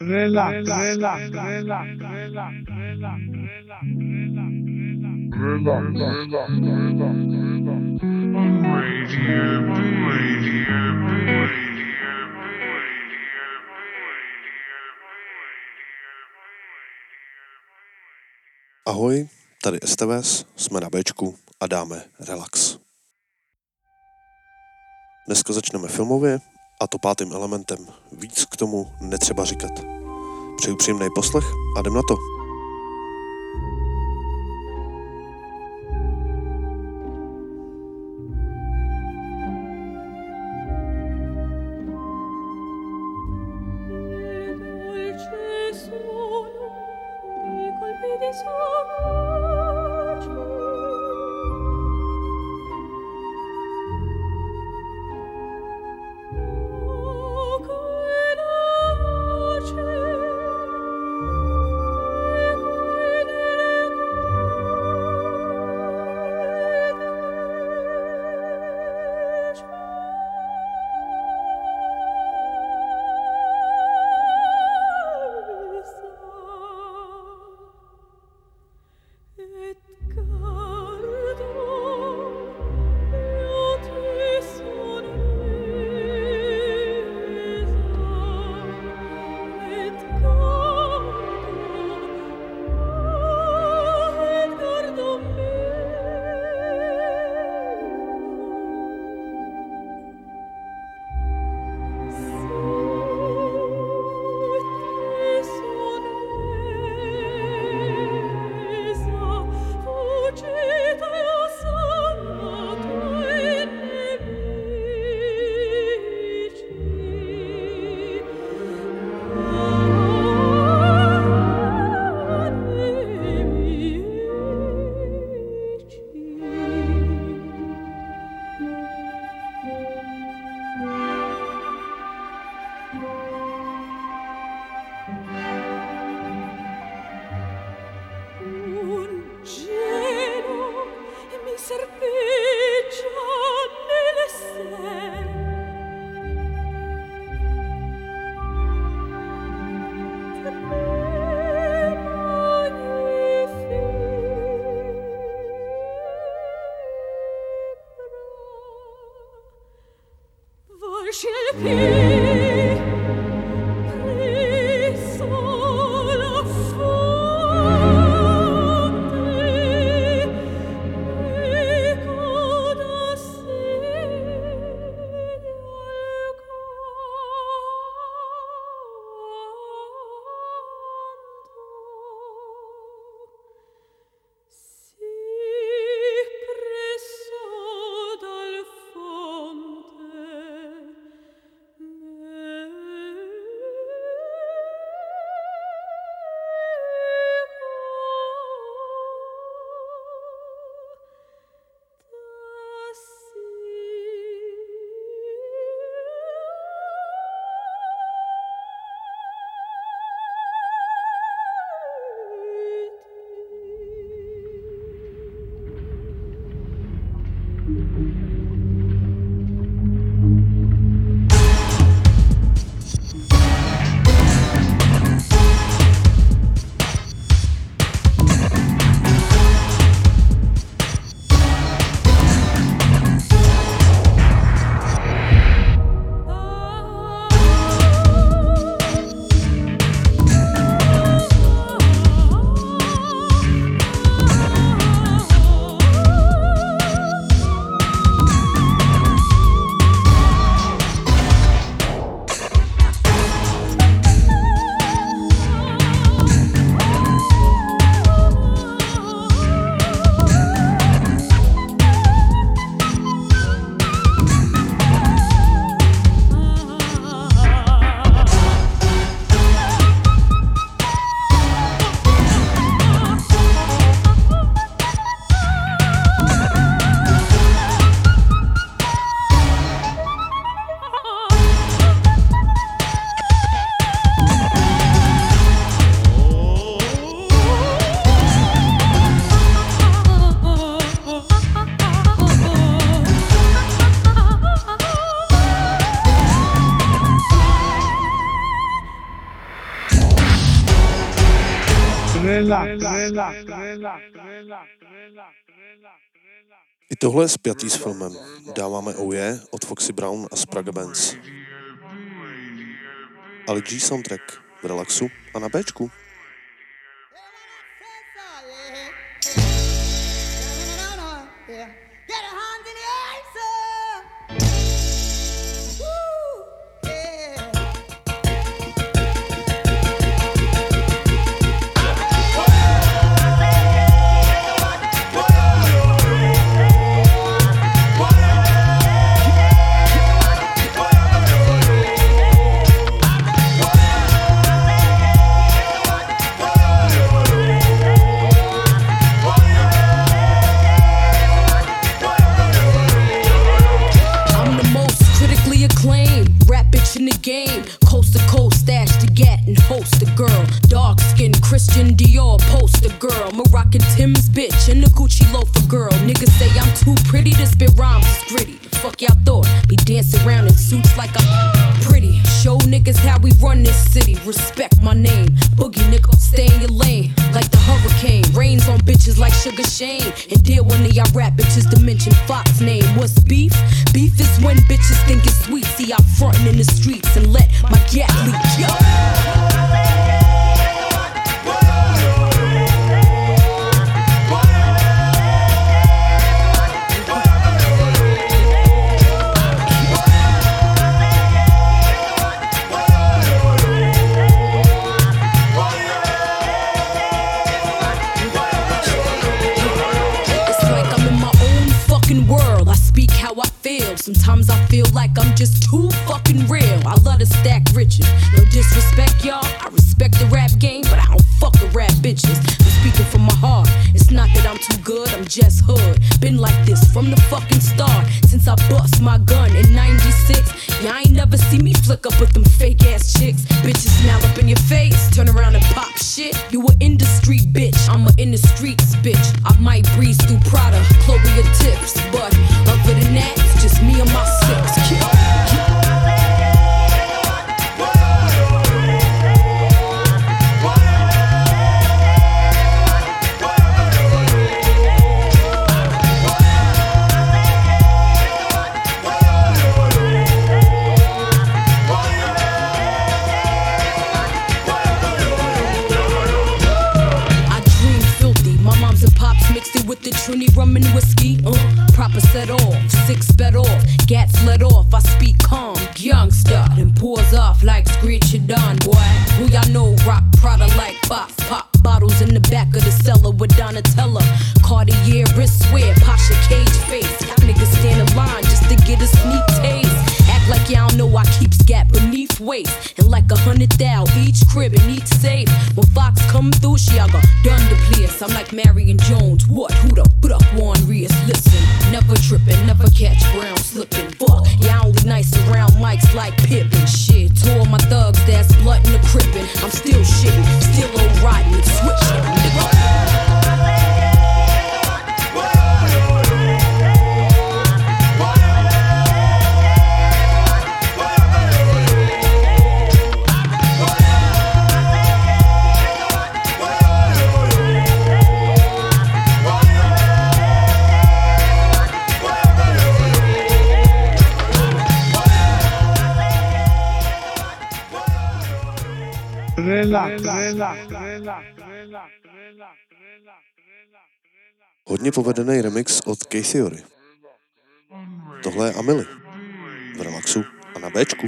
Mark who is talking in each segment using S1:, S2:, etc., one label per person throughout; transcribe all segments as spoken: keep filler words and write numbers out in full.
S1: Relax, relax, relax, relax, relax, relax, relax, Radio B, Radio B, Radio B, Radio B.
S2: Ahoj, tady S T V S, jsme na Bčku a dáme relax. Dneska začneme filmově, a to pátým elementem. Víc k tomu netřeba říkat. Přeju příjemný poslech a jdem na to. I tohle je spjatý s filmem. Dáváme Oh Yeah od Foxy Brown a Sprague Benz. Ali G soundtrack v Relaxu a na Bčku.
S3: In the game, coast to coast, stash to get and host a girl. Dark skin, Christian Dior, poster girl. Moroccan Tim's bitch and a Gucci loafer girl. Niggas say I'm too pretty to spit rhymes, it's gritty. The fuck y'all thought? Be dancing around in suits like I'm pretty. Show niggas how we run this city. Respect my name. Boogie nigga, stay in your lane. Like the hurricane. Rains on bitches like Sugar Shane. And deal one of y'all rap bitches to mention Fox name. What's beef? Beef is when bitches think it's sweet. See, I'm frontin' in the streets and let my gat leak. Yo. World, I speak how I feel. Sometimes I feel like I'm just too fucking real. I love to stack riches. No disrespect, y'all. I respect the rap game, but I don't fuck with rap bitches. I'm speaking from my heart. It's not that I'm too good, I'm just hood. Been like this from the fucking start. Since I bust my gun in ninety-six. Y'all ain't never see me flick up with them fake ass chicks. Bitches smile up in your face, turn around and pop shit. You a industry bitch, I'm a in the streets bitch. I might breeze through Prada, Chloe or Tips, but other than that, it's just me and my six kids. With the Trini rum and whiskey, uh, proper set off, six bet off, gats let off. I speak calm, youngster, then pours off like screech it done, boy. Who y'all know rock Prada like box, pop bottles in the back of the cellar with Donatella, Cartier wristwear, Pasha cage face. Y'all niggas stand in line just to get a sneak taste. Act like y'all know I keep scat beneath waist, and like a hundred thou each crib and each safe. When Fox come through, she I got done the place. I'm like Marion Jones, what? Who the put up Juan Rios? Listen, never trippin', never catch brown slippin'. Fuck, y'all only nice around mics like Pippin. Shit, to all my thugs that's blood in the crippin'. I'm still shittin', still old riding and switchin', nigga.
S2: Hodně povedený remix od K-Theory. Tohle je Amily v Relaxu a na Bčku.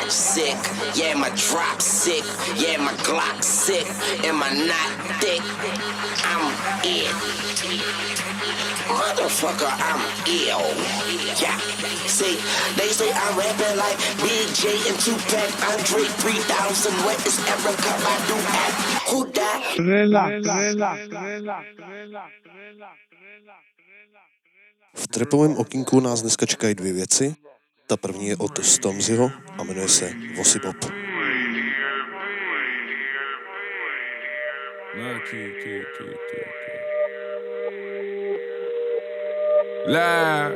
S4: sick, yeah, my drop sick, yeah, my Glock sick, am I not thick? I'm it. Motherfucker, I'm ill. Yeah, see, they say I'm rapping like B J and Tupac, Andre three thousand, what is Erica Badu at? Who that?
S2: V trapovém okýnku nás dneska čekají dvě věci. Ta první je od Stormzyho a jmenuje se Vossi Bop.
S5: Lie.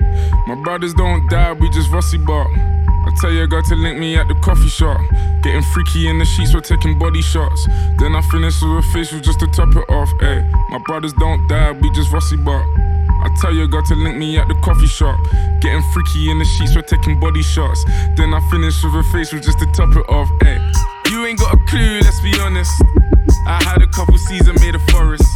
S5: My brothers don't die, we just Vossi Bop. I tell your girl to link me at the coffee shop. Getting freaky in the sheets, we're taking body shots. Then I finish with a facial just to top it off. Ay, my brothers don't die, we just Vossi Bop. I tell your girl to link me at the coffee shop. Getting freaky in the sheets, we're taking body shots. Then I finish with a facial just to top it off. Ay, you ain't got a clue, let's be honest. I had a couple seeds and made a forest.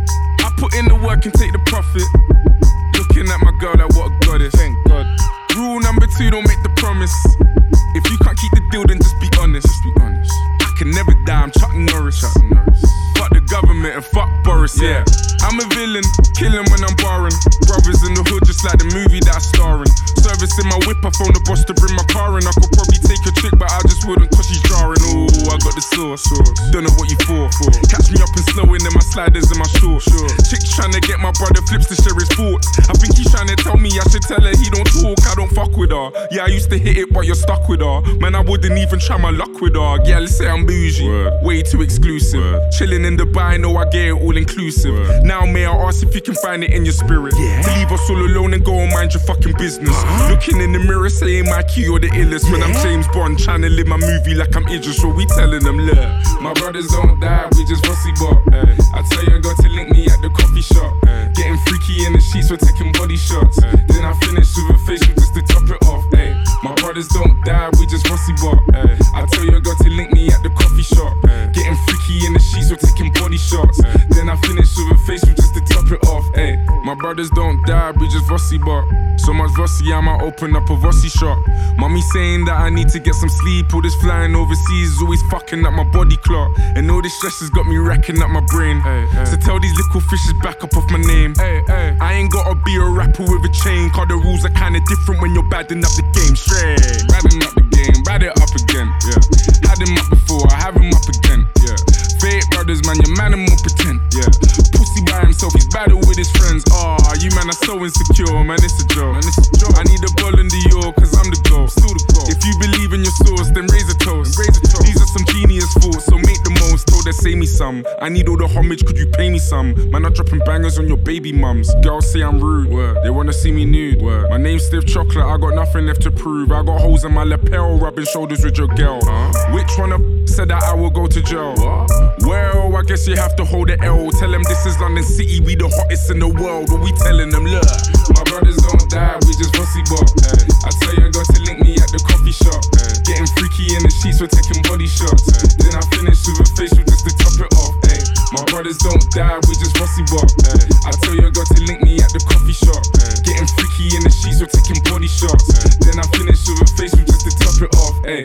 S5: I put in the work and take the profit. Looking at my girl like what a goddess. Thank God. Rule number two, don't make the promise. If you can't keep the deal, then just be honest. Just be honest. I can never die, I'm Chuck Norris. Chuck Norris. Fuck the government and fuck Boris, yeah. I'm a villain, killing when I'm barring. Brothers in the hood, just like the movie that I'm starring. Service in my whip, I phone the boss to bring my car in. I could probably take a trick, but I just wouldn't cause she's jarring. Ooh, I got the sauce, don't know what you for. Catch me up and slowing in my sliders and my shorts. Chick's trying to get my brother Flips to share his thoughts. I think he's trying to tell me I should tell her he don't talk, I don't fuck with her. Yeah, I used to hit it, but you're stuck with her. Man, I wouldn't even try my luck with her. Yeah, let's say I'm bougie, Word. Way too exclusive. Word. Chilling in Dubai, know I get it all inclusive. Word. Now may I ask if you can find it in your spirit, yeah. To leave us all alone and go and mind your fucking business. Uh-huh. Looking in the mirror saying my key you're the illest, yeah. When I'm James Bond trying to live my movie like I'm Idris. So we telling them, look, my brothers don't die, we just Vossi Bop. Hey. I tell you I got to link me at the coffee shop. Hey. Getting freaky in the sheets, we're taking body shots. Hey. Then I finish with a facial just to top it off. Hey. My brothers don't die, we just Vossi Bop. Hey. I tell you I got to link me at the coffee shop. Hey. Getting freaky in the sheets, we're taking body shots. Hey. Then I finish with a facial just to top it off. Hey. My brothers don't die, we just Vossi Bop. So much Vossi, I might open up a Vossi shop. Mommy saying that I need to get some sleep. All this flying overseas is always fucking up my body clock. And all this stress has got me racking up my brain. Ay, ay. So tell these little fishes back up off my name. Ay, ay. I ain't gotta be a rapper with a chain, cause the rules are kinda different when you're badding up the game. Straight, badding up the game, bad it up again. Yeah. Had him up before, I have him up again. Yeah. Fake brothers, man, your man and more pretend. Yeah. Pussy by himself, he's battle with his friends. Ah, oh, you man are so insecure, man, it's a joke. Man, it's a joke. I need a ball in the York, cause I'm the goal. Still the goal. If you believe in your source, then raise a toast. Raise a toast. These are some genius thoughts, so make the most. Told her, say me some. I need all the homage, could you pay me some? Man, I'm dropping bangers on your baby mums. Girls say I'm rude, Word. They wanna see me nude. Word. My name's Stiff Chocolate, I got nothing left to prove. I got holes in my lapel, rubbing shoulders with your girl. Huh? Which one of said that I will go to jail? What? Well, I guess you have to hold the L. Tell them this is London City, we the hottest in the world. What we telling them, look, my brothers don't die, we just Vossi Bop. I tell you I got to link me at the coffee shop. Ay. Getting freaky in the sheets, we're taking body shots. Ay. Then I finish with a facial just to top it off. Ay. My brothers don't die, we just Vossi Bop. I tell you I got to link me at the coffee shop. Ay. Getting freaky in the sheets, we're taking body shots. Ay. Then I finish with a facial just to top it off. Ay.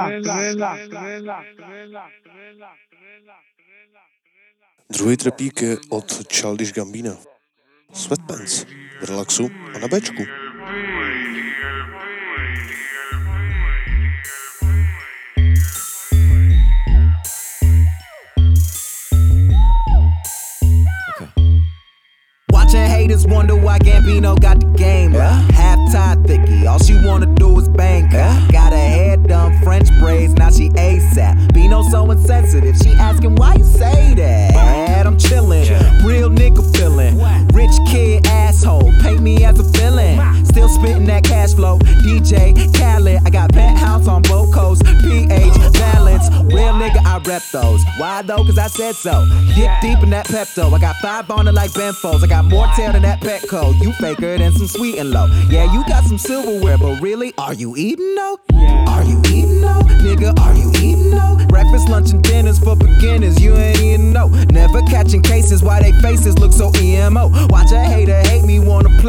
S2: Druhý trepík je od Childish Gambina. Sweatpants v relaxu a na béčku.
S6: Watching haters wonder why Gambino got the game. Yeah. Half-tie thicky, all she wanna do is bang. Yeah. Got her hair done, French braids, now she ASAP. Bino so insensitive, she asking why you say that. I'm chillin', yeah. Real nigga feelin'. Rich kid asshole, paint me as a villain. Still spittin' that cash flow, D J Khaled. I got penthouse on both coasts, P H balance. Real nigga, I rep those. Why though? Cause I said so. Dip deep in that Pepto. I got five on it like Benfos. I got more tail than that Petco. You faker than some sweet and low. Yeah, you got some silverware, but really, are you eating though? Are you eating though? Nigga, are you eating though? Breakfast, lunch, and dinners for beginners. You ain't eating no. Never catching cases. Why they faces look so E M O? Watch a hater hate me, wanna play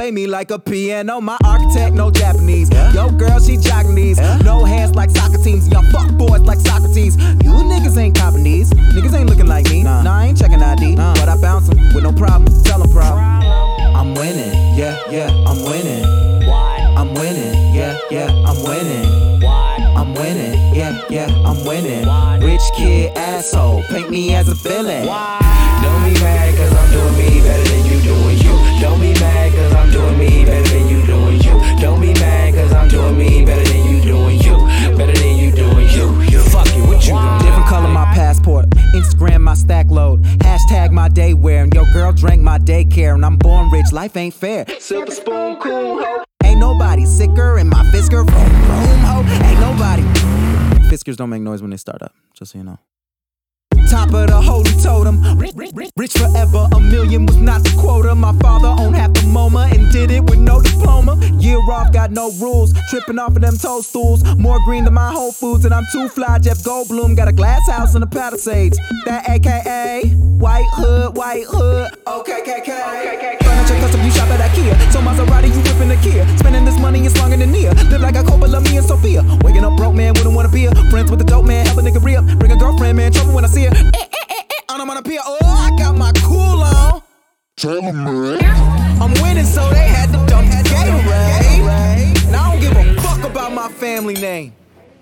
S6: play me like a piano. My architect, no Japanese. Yo, girl, she jogging these. No hands like soccer teams. Y'all fuck boys like Socrates. You niggas ain't copping these. Niggas ain't looking like me. Nah, nah I ain't checking I D. Nah. But I bounce them with no problem. Tell them problem. I'm winning. Yeah, yeah, I'm winning. Why? I'm winning. Yeah, yeah, I'm winning. Why? I'm winning. Yeah, yeah, I'm winning. Why? Rich kid, asshole. Paint me as a villain. Why?
S7: Don't be mad cause I'm doing me better than you doing you. Don't be mad cause I'm doing me better than you doing you. Don't be mad cause I'm doing me better than you doing you. Better than you doing you. You fuck it, what you doing?
S6: Different color my passport. Instagram my stack load. Hashtag my day wear. And your girl drank my daycare. And I'm born rich, life ain't fair. Silver spoon, cool ho. Ain't nobody sicker in my Fisker room, room ho. Ain't nobody. Fiskers don't make noise when they start up, just so you know. Top of the holy totem. Rich, rich, rich, rich forever, a million was not the quota. My father owned half the MoMA and did it with no diploma. Year off, got no rules. Tripping off of them toadstools. More green than my Whole Foods, and I'm too fly. Jeff Goldblum got a glass house in the Palisades. That A K A White Hood, White Hood. Okay, K K. Furniture custom, you shop at IKEA. So Maserati, you whipping the Kia. Spending this money is longer than Nia. Live like a Coppola, me and Sophia. Waking up broke, man, wouldn't wanna be a friends with the dope man. Help a nigga re-up. Bring a girlfriend, man, trouble when I see her. Eh, eh, eh, eh, I'm on a pier. Oh, I got my cool on.
S1: Tell 'em, man.
S6: I'm winning, so they had to dump the Gatorade. And I don't give a fuck about my family name.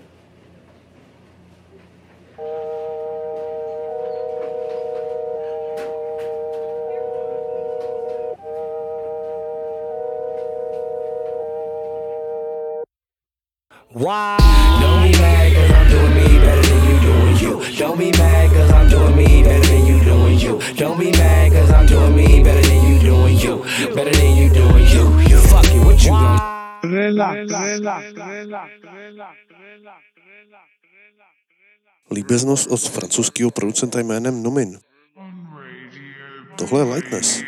S7: Why? Don't be mad cause I'm doing me better than you doing you. Don't be mad cause I'm doing me better than you doing you. Don't be mad cause I'm doing me better than you doing you. Better than you doing you. You fuck it, what you gon'
S2: Líbeznost od francouzského producenta jménem Nomin. Tohle je Lightness.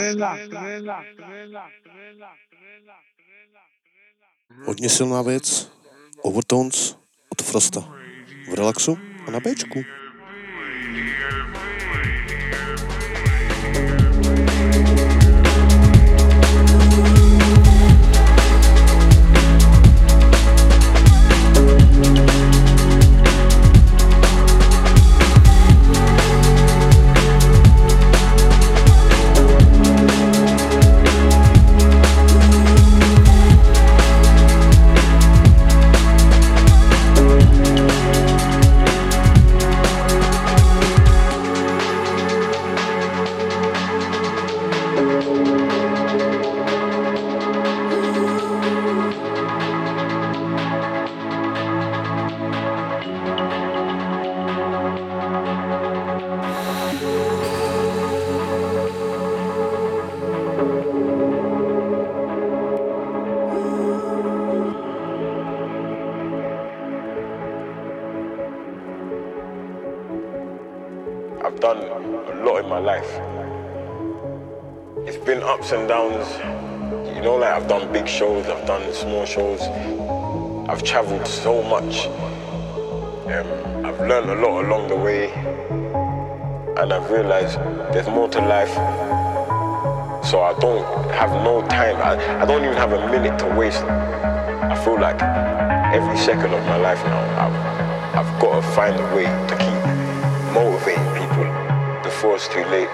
S2: Hodně silná věc, Overtones od Frosta. V relaxu a na Bčku.
S8: I've done a lot in my life. It's been ups and downs. You know, like I've done big shows, I've done small shows. I've traveled so much. Um, I've learned a lot along the way. And I've realized there's more to life. So I don't have no time. I, I don't even have a minute to waste. I feel like every second of my life now, I've, I've got to find a way to keep motivating people before it's too late.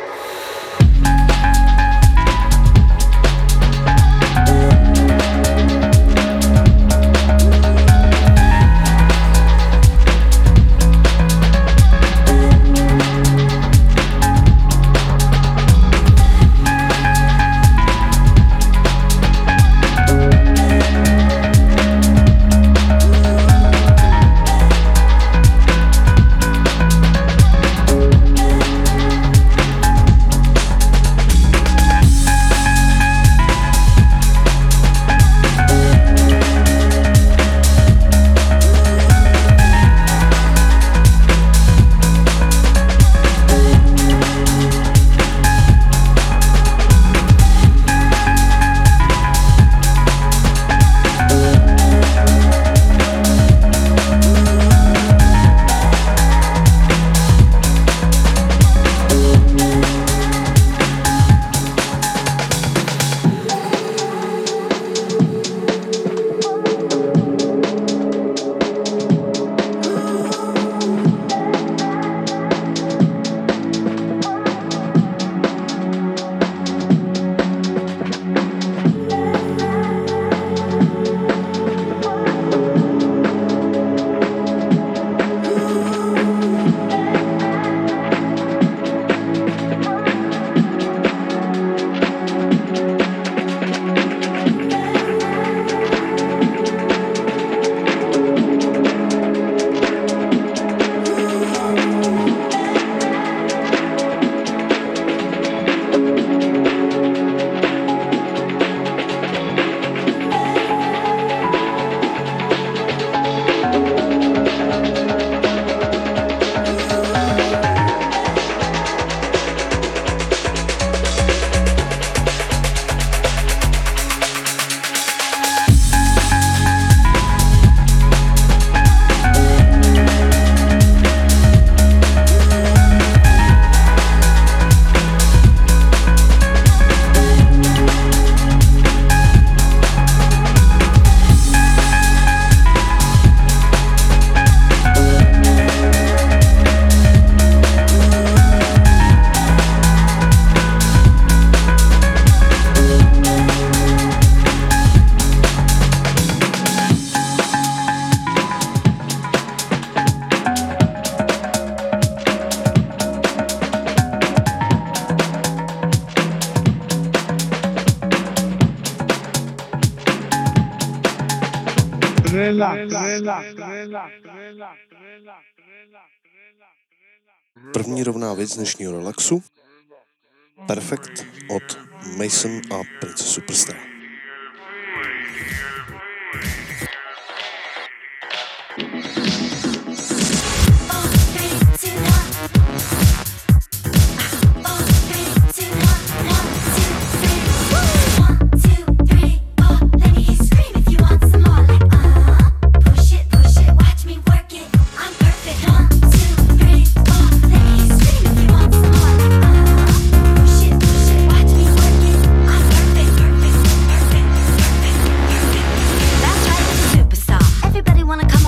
S2: První rovná věc dnešního relaxu. Perfect od Mason a Princess Superstar.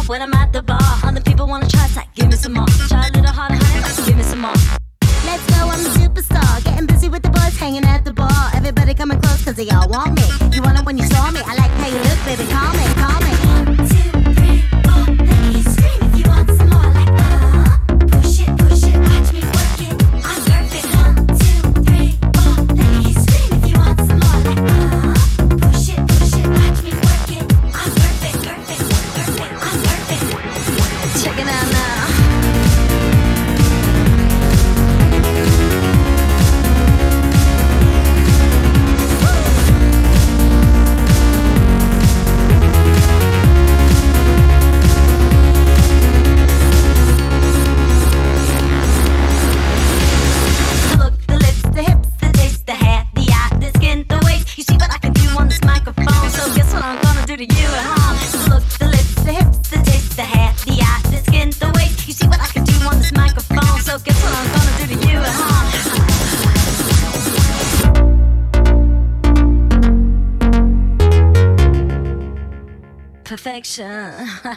S9: when I'm at the bar. Other people wanna try, it's like, give me some more. Try a little harder, honey, give me some more.
S10: Let's go, I'm a superstar. Getting busy with the boys, hanging at the bar. Everybody coming close, cause they all want me. You want it when you saw me. I like how you look, baby, call me, call me. One, two, three, four, let me scream if you want some more. Like, uh, push it, push it, watch me work it. I'm perfect. One, two, three, four, let me scream if you want some more. Like, uh, push it, push it, watch me work it. I'm perfect, perfect, perfect, I'm perfect. Check it out now. To you at home. The look, the lips, the hips, the taste, the hair, the eye, the skin, the waist. You see what I can do on this microphone. So guess what I'm gonna do to you at home. Perfection.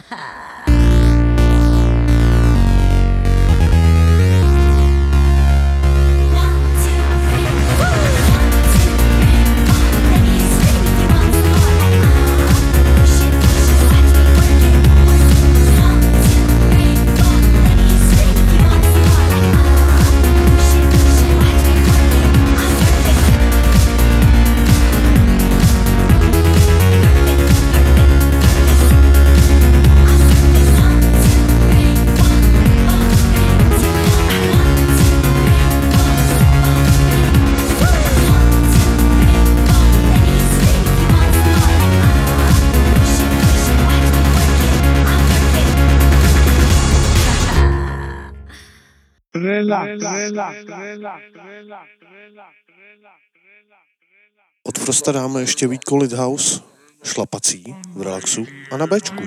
S2: Od Frosta dáme ještě Vítko Lithouse, šlapací, v relaxu a na Bčku.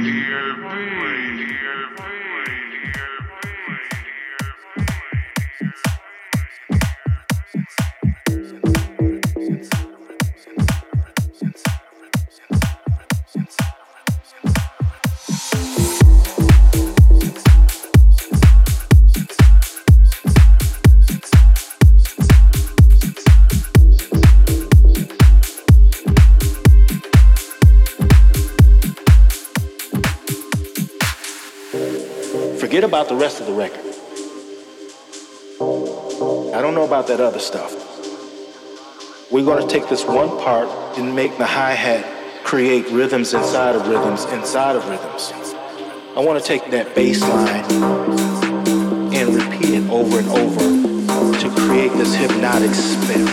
S11: Forget about the rest of the record. I don't know about that other stuff. We're going to take this one part and make the hi-hat create rhythms inside of rhythms inside of rhythms. I want to take that bass line and repeat it over and over to create this hypnotic spell.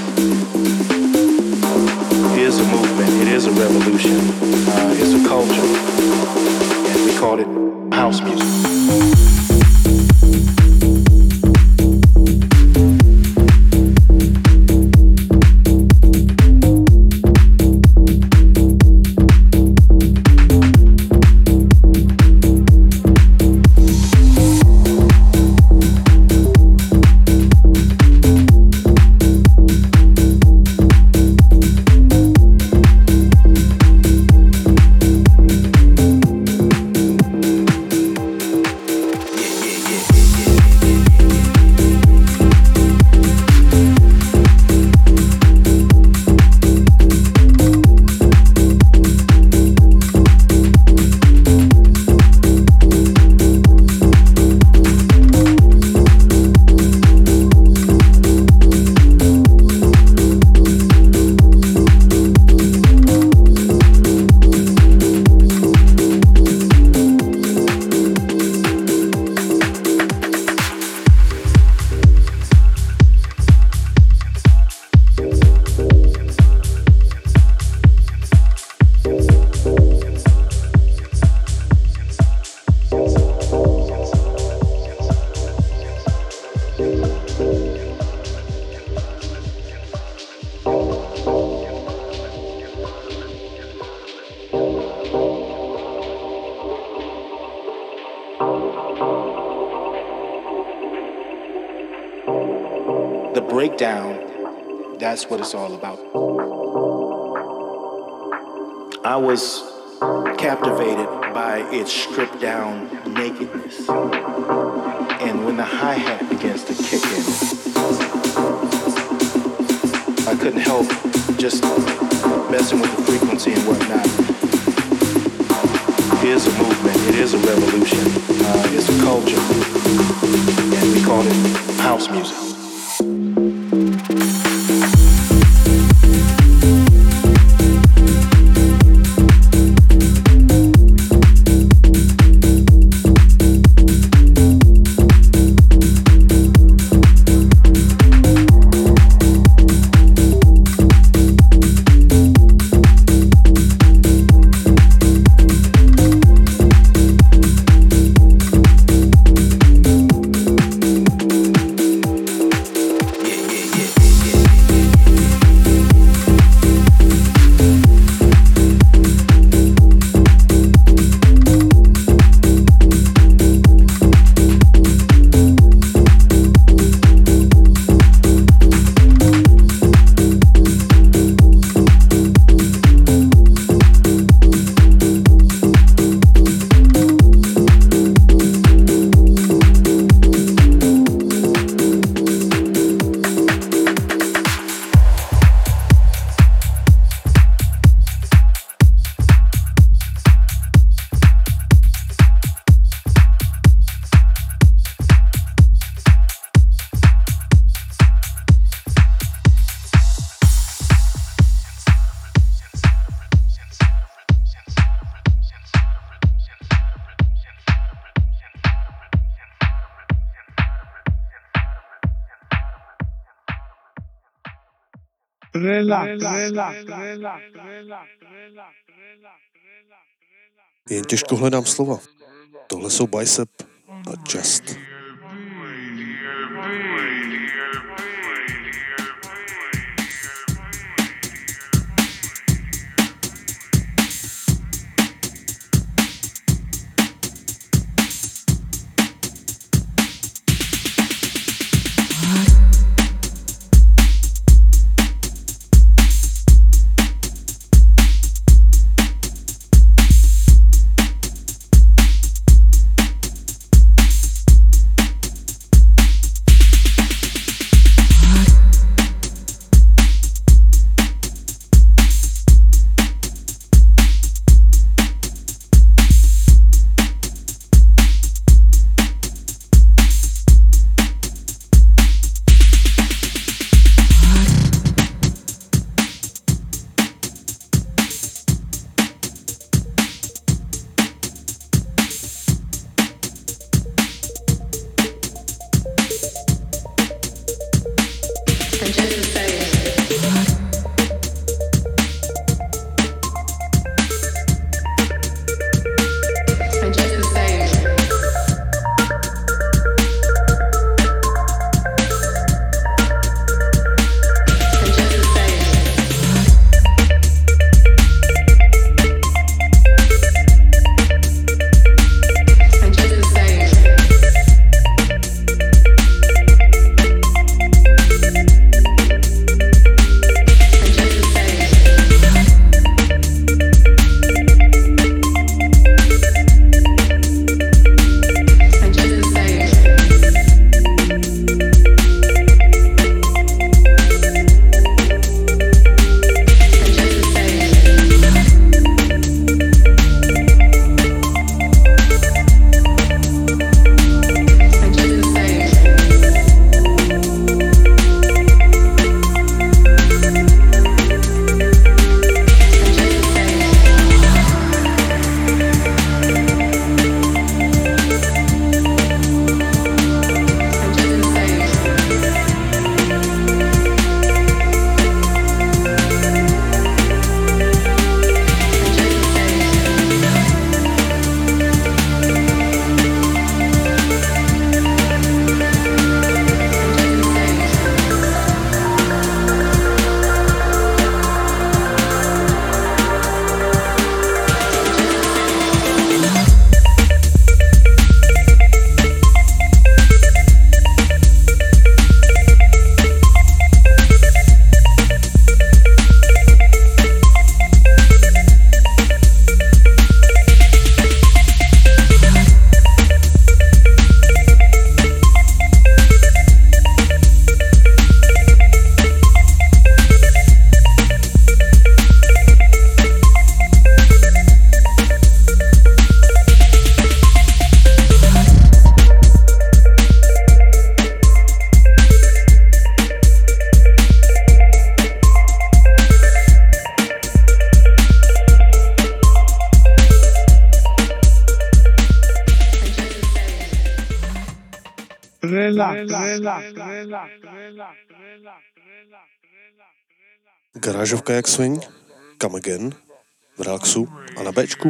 S11: It is a movement. It is a revolution. Uh, it's a culture. And we call it house music. The breakdown, that's what it's all about. I was captivated by its stripped down nakedness. And when the hi-hat begins to kick in, I couldn't help just messing with the frequency and whatnot. It is a movement, it is a revolution, uh, it's a culture, and we call it house music.
S2: Jen těžko hledám slova. Tohle jsou Bicep a Just. Garážovka jak swing, Come Again, v relaxu a na Bčku.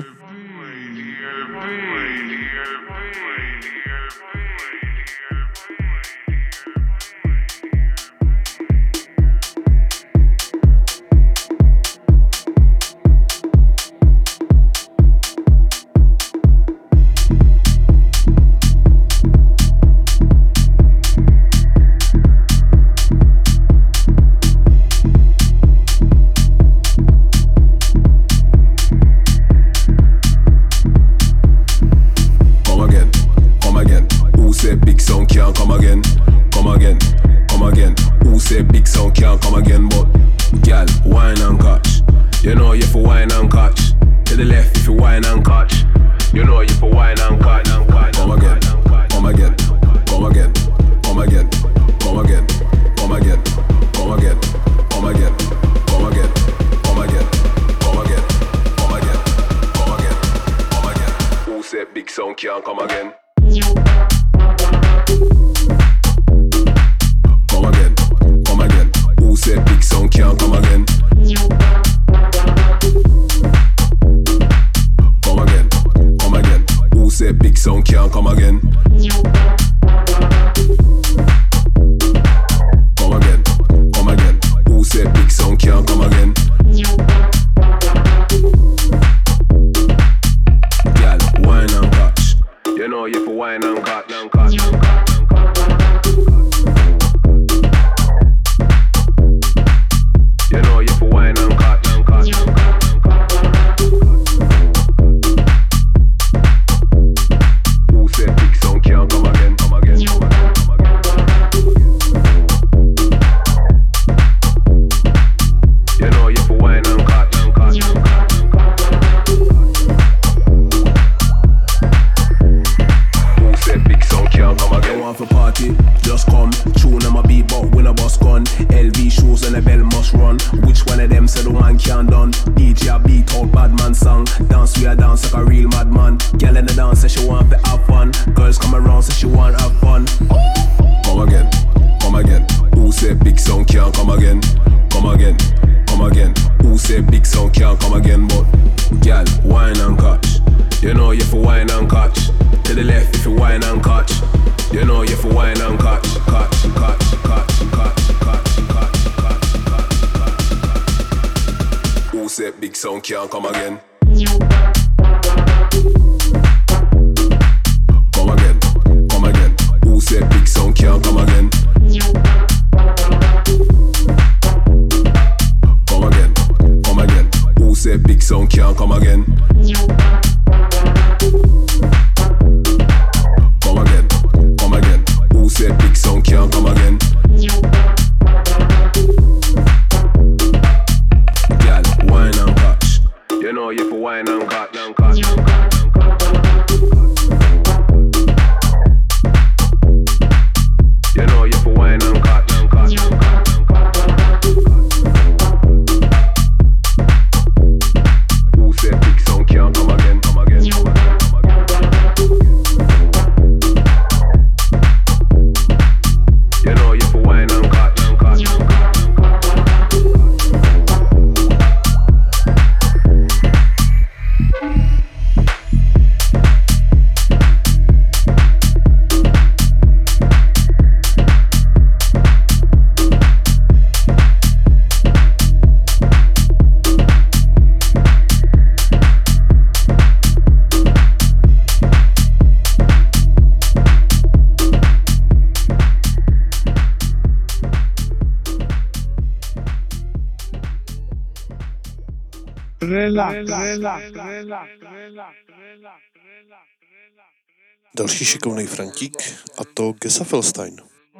S2: Další šikovný Frantík, a to Gesaffelstein.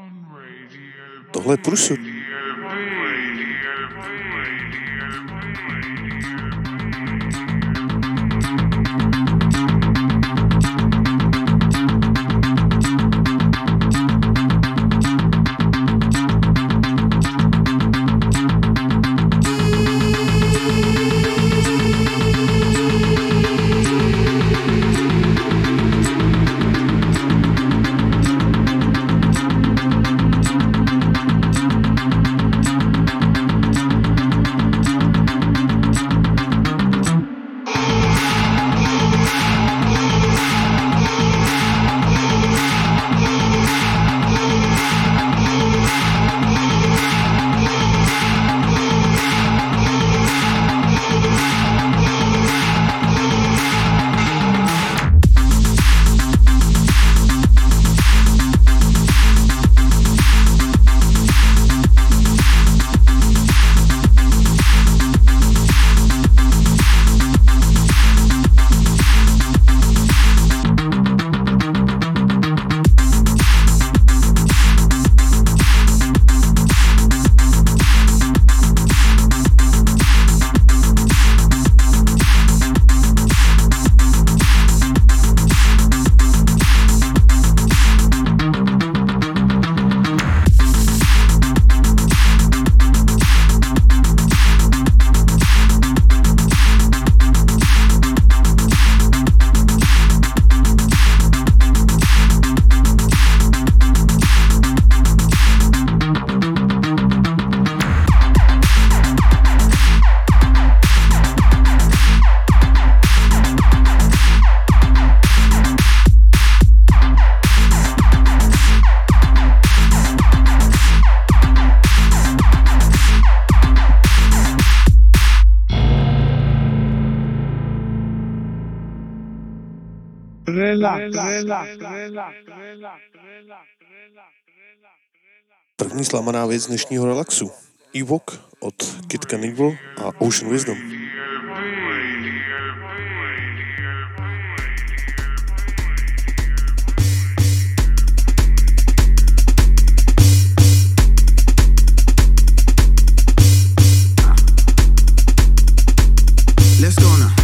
S2: Tohle je průsud. První zlamaná věc dnešního relaxu. Ewok od Kid Cannibal a Ocean Wisdom.
S12: Let's go now.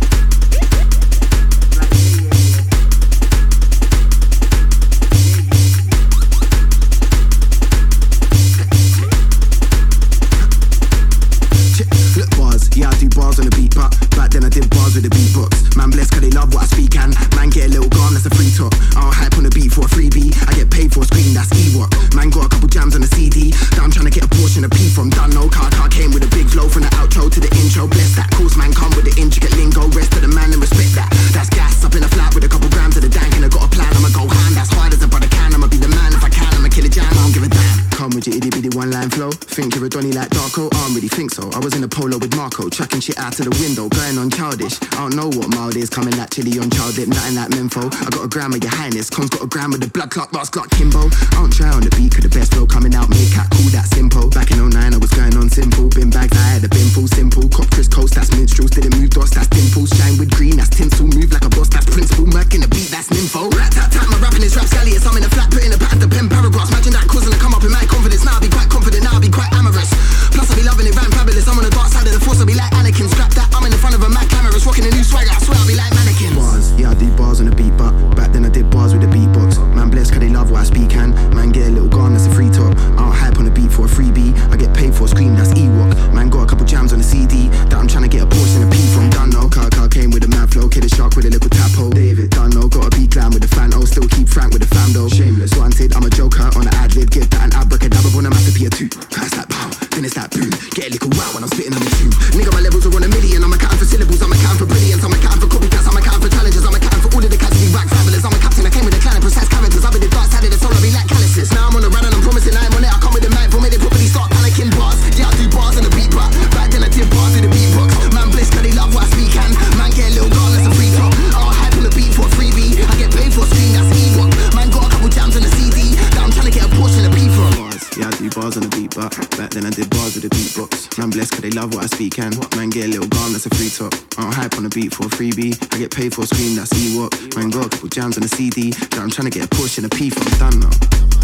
S12: Flip bars, yeah, I do bars on the beat, but back then I did bars with the beatbox. Man blessed cause they love what I speak, and man get a little gone, that's a free talk. I'll hype on the beat for a freebie, I get paid for a screen, that's Ewok. Man got a couple jams on the C D, that I'm trying to get a portion of P from. Done no car, car came with a big flow from the outro to the intro. Bless that, course man come with the intricate lingo. Rest of the man and respect that. That's gas up in a flat with a couple grams of the dank, and I got a plan, I'ma go hand. That's hard as a brother can, I'ma be the man if I can, I'ma kill a jam, I don't give a damn. Come with your itty bitty one line flow, think you're a Donny like Darko, I don't really think so. I was in a polo with Marco, chucking shit out to the window, going on childish. I don't know what mild is, coming like chili on child dip, nothing like Menfo. I got a gram of your highness, Con's got a gram of the blood clot, Ross clot Kimbo. I don't try on the beat, cause the best flow coming out, me cat cool, that simple. Back in oh nine I was going on simple, bin bags, I had a bin full simple. Cop Chris Coast, that's minstrels, didn't move dots, that's dimples. Shine with green, that's tinsel, move like a boss, that's principle. Merc in the beat, that's nympho. Rat tat tat, my rapping is rapscallious, I'm in a flat, putting a pat at the pen paragraphs. Imagine that causing to come up in my confidence, now I be quite confident, now I be quite amorous. Plus I be loving it, ran fabulous, I'm on the dark side of the force, I be like Anakin. Strap that, I'm in the front of a Mac cameras, rocking a new swagger, I swear I be like mannequins. Bars, yeah I do bars on the beat, but back then I did bars with the beatbox. Man blessed cause they love what I speak, and man get a little gone, that's a free talk. I'll hype on the beat for a freebie, I get paid for a scream, that's Ewok. Man got a couple jams on the C D, that I'm trying to get a portion of P from. Done no, car car came with a mad flow, kid a shark with a little tap hole. David, done no, gotta be glam with the fan, oh still keep frank with the fam though. Shameless, wanted, I'm a joker on the ad lib, give that an abracadabra on a masterpiece or two. Pass that pow, then it's that boom, get a little wow when I'm spitting on the tube. Nigga my levels are on a million, I'm accounting for syllables, I'm accounting for brilliance, I'm accounting for copycats, I'm accounting for challenges, I'm accounting for all of the cats who be whack fabulous. I'm a captain, I came with a clan of precise characters, I've been the dark side of the soul, I be like calluses. Now I'm on the run and I'm promising I'm on it, I come with the mic for me, they probably start panicking bars. Yeah I do bars on the beat, but back then I did bars with the beatbox. Man blessed cause they love what I speak, and man get a little gone, that's a free talk. I'll hype on the beat for a freebie, I get paid for a screen, that's Ewok. Man got a couple jams on the C D, that I'm trying to get a portion of P from. Bars, yeah I do bars on the beat, but back then I did bars with the beatbox. Man blessed cause they love what I speak, and man get a little gone, that's a free talk. I'll hype on the beat for a freebie, I get paid for a screen, that's Ewok. Man got a couple jams on the C D, that I'm trying to get a portion of P from. Done now.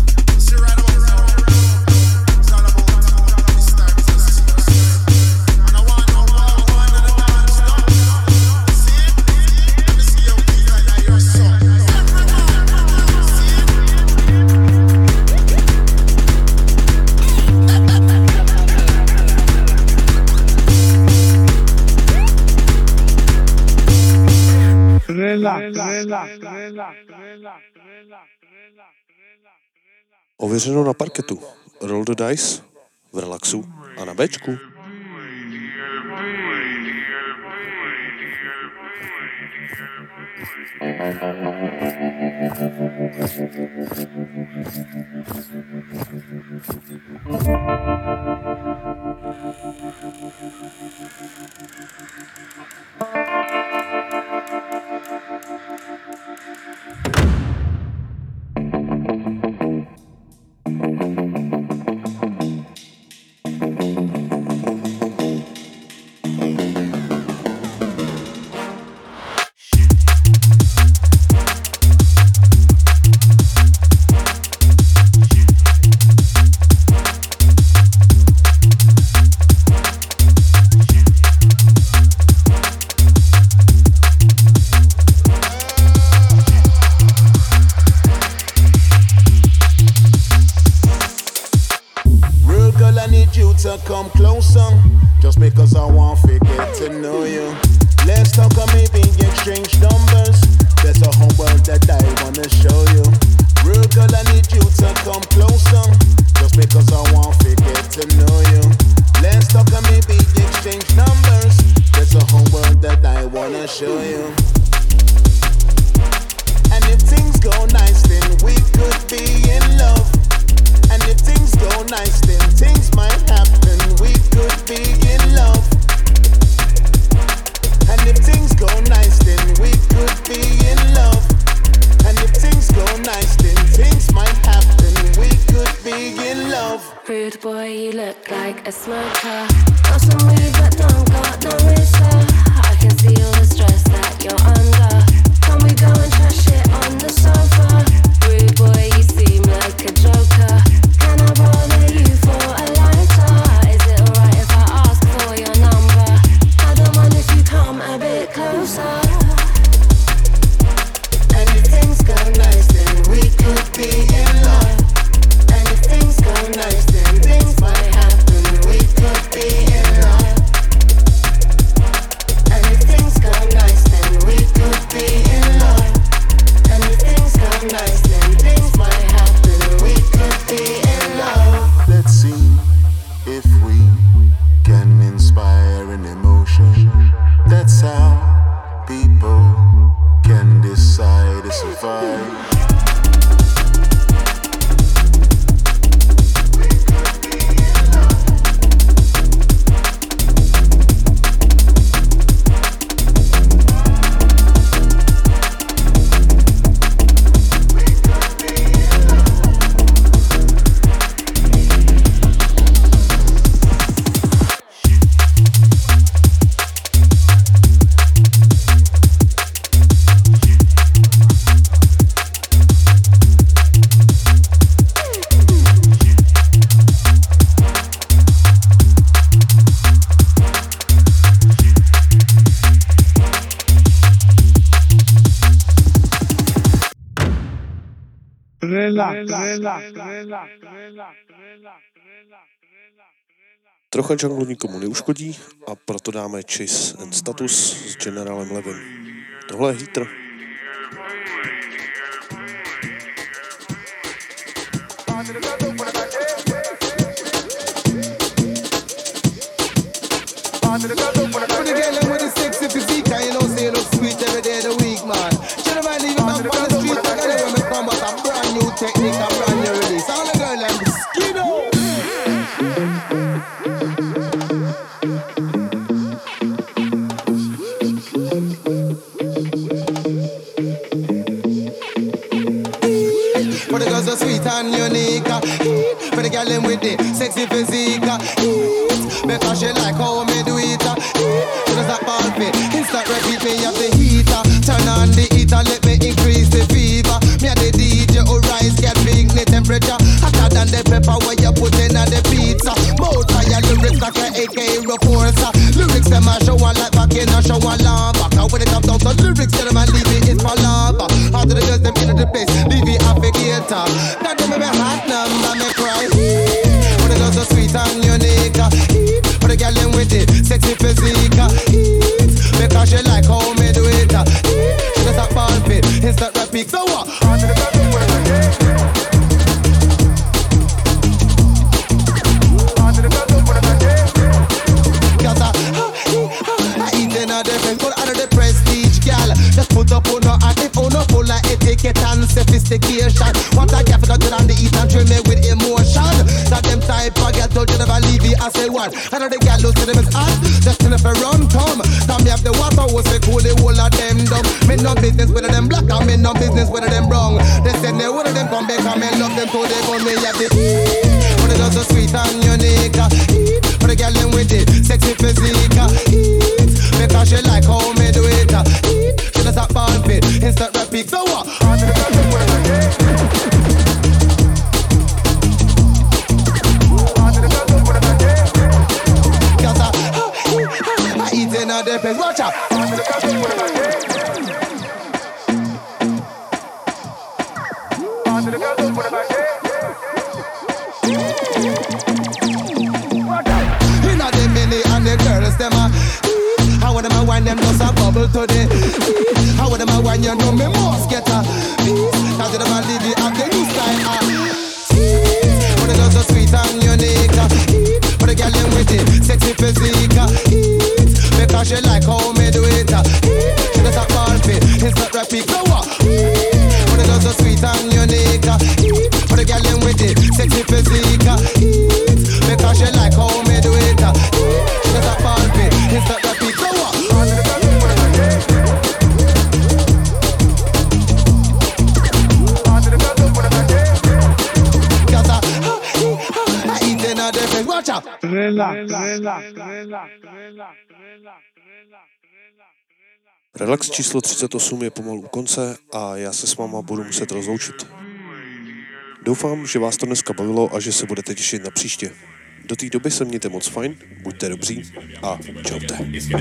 S2: Ověřeno na parketu. Roll the dice v relaxu a na Bčku.
S13: Come closer, just because I want to get to know you. Let's talk or maybe exchange numbers. There's a whole world that I wanna show you. Real girl, I need you to come closer, just because I want to get to know you. Let's talk or maybe exchange numbers. There's a whole world that I wanna show you. And if things go nice, then we could be in love. And if things go nice, then things might happen. We could be in love. And if things go nice, then we could be in love.
S14: Rude boy, you look like a smoker. Got some weed but don't got no mister. I can see all the stress that you're under. Can we go and chat shit on the sofa? Rude boy, you seem like a joker. Can I bother you for a lighter? Is it alright if I ask for your number? I don't mind if you come a bit closer. And if things go nice, then we could be in love. And if things go nice, then things might happen. We could be in love. And if things go nice, then we could be in love. And if things go nice, then things might happen. We could be in love.
S13: Let's see if we can inspire an emotion. That's how people can decide to survive.
S2: Trocha junglu nikomu neuškodí a proto dáme Chase and Status s Generálem Levem. Tohle je Heater.
S15: Technique, I'm brand new release. All the girl and the skin For the girls so sweet and unique, for the girl in with the sexy physique, because she like how me do it. She does that ball fit, instant repeat me up the heater. Turn on the heater, let me increase the fever. Me and the D J who rise, get big the temperature hotter than the pepper when you put in on the pizza. Both fire lyrics like a A K reporter. Lyrics them a show one like back in a show one lava. Now when it comes down to lyrics, tell them I leave it is for lava. How do the girls them into the place, leave it applicator. Now them me hot number me cry. For the girls so sweet and unique, for the girl them with it sexy physique, because she like how me do it. She does that ball fit, instant rap peak. So what? Just put up on her and if on her full of etiquette and sophistication. What I get for the good and the eat and train me with emotion. That them type of girl told you never leave it as a one. I know the girl who see them as hot, just in if a run come. Now me have the water was the cool, the whole of them dumb. Me no business with them black and me no business with them brown. They said they would of them come back and me love them so they gon' me have the for the girls so sweet and unique. For the girl them with it sexy physique, because she like how me do it. Just a ball fit, instant rap peak. So what? Cause I, I eat in a depends. Watch out. You know the mini and the girls them a how them a wine them just a bubble to the how them a wine you know me must get a cause them a live it up the new style ah. For the girls so sweet and unique, for the girl them with it sexy physique, because she like how me do it. She does a ball fit, it's not rap peak. So what? For the girls so sweet and unique, for the girl them with it sexy physique, because she like how me do it. She does a ball fit, it's not rap peak. So what? out.
S1: Relax, relax, relax,
S2: Relax číslo třicet osm je pomalu u konce a já se s váma budu muset rozloučit. Doufám, že vás to dneska bavilo a že se budete těšit na příště. Do té doby se mějte moc fajn, buďte dobří a čaute.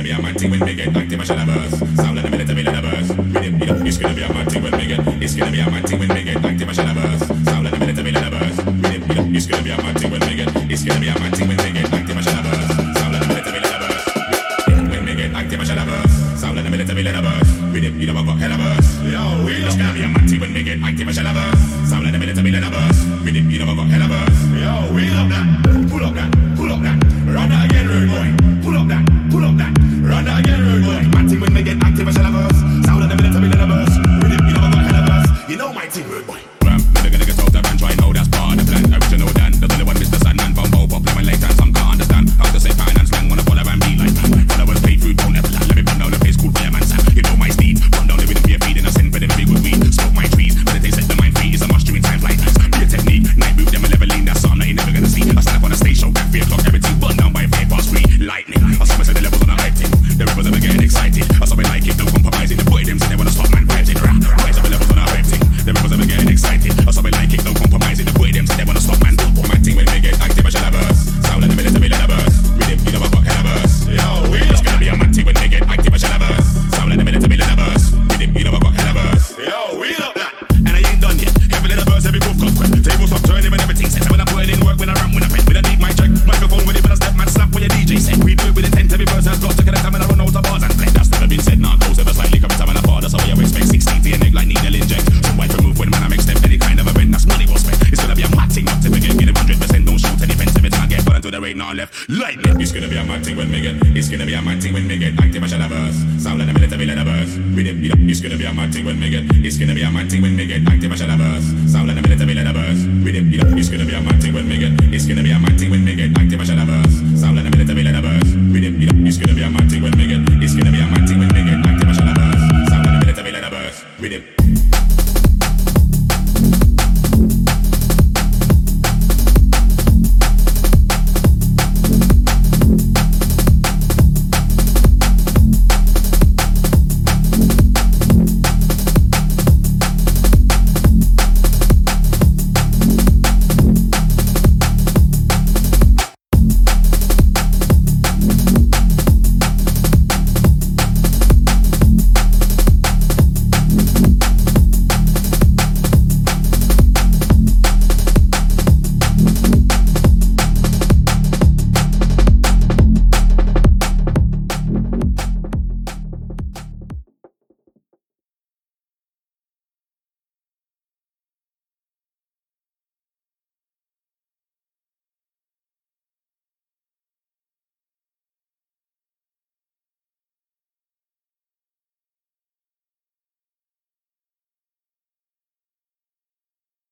S16: Pull up that, pull up that, run that again, rude boy. Pull up that, pull up that, run that again, rude boy. My team when they get active, I shall have us. Sound of the minute, a million of us. Rhythm, you know I got hell of us. You know my team, rude boy. Ram, never gonna get out of and try, know that's part of the plan. Original Dan, there's only one Mister Sandman. Bumbo, pop, lemon, late and some can't understand how to say finance, slang, wanna follow and be like man. Followers pay food, don't ever land. Let me run down the place, cool fireman, Sam. You know my steed, run down the rhythm, be a feed, and I send for them big with weed. Smoke my trees, but they set the mind free. It's a must during times like this. Be a technique, night move, them will never lean. That's something that you never gonna see. I stand up on a stage show, back three o'clock, everything burned down by five past three. Lightning, I saw me say the levels on a hype team. The rappers ever getting excited. I saw me like it, no compromising. The boy them say they wanna stop man vibes in rap. Rise up the levels on a hype team. The rappers ever getting excited. I saw me like it, no compromising. The boy them say they wanna stop man. My team when they get active, I shall have us. Sound like the minute, a million of us. Rhythm, you know I got hell of us. Yo, it's gonna be a man team when they get active, I shall have us. Sound like the minute, a million of us. Rhythm, you know I got hell of us. Yo, we love that. And I ain't done yet. Heavy little verse, every move got quick. Tables stop turning when everything set. When I put it in work, when I rap, when I pen, when I need my check. Microphone with it, when I step, man, slap when your D J set. We do it with intent, every verse has got to get a time when I run out of bars and play. That's never been said, nah, goes ever slightly coming time and I fall. That's how I expect sixteen to your neck like needle inject. Some white remove when man I make step any kind of event. That's money was spent. It's gonna be a mad thing, not to forget. Get it one hundred percent, don't shoot any fence. Every time I get put into the rain, not left. Lightning. It's gonna be a mad thing when we get. It's gonna be a mad thing when we get active, I shall have us. Sound like the minute, a million of us. Rhythm, you know, it's gonna be a mad thing when we get. It's gonna be a mad thing when we get active, I shall have us. Sound like the minute, a million of us. Rhythm, you know, it's gonna be a mad thing when we get. It's gonna be a mad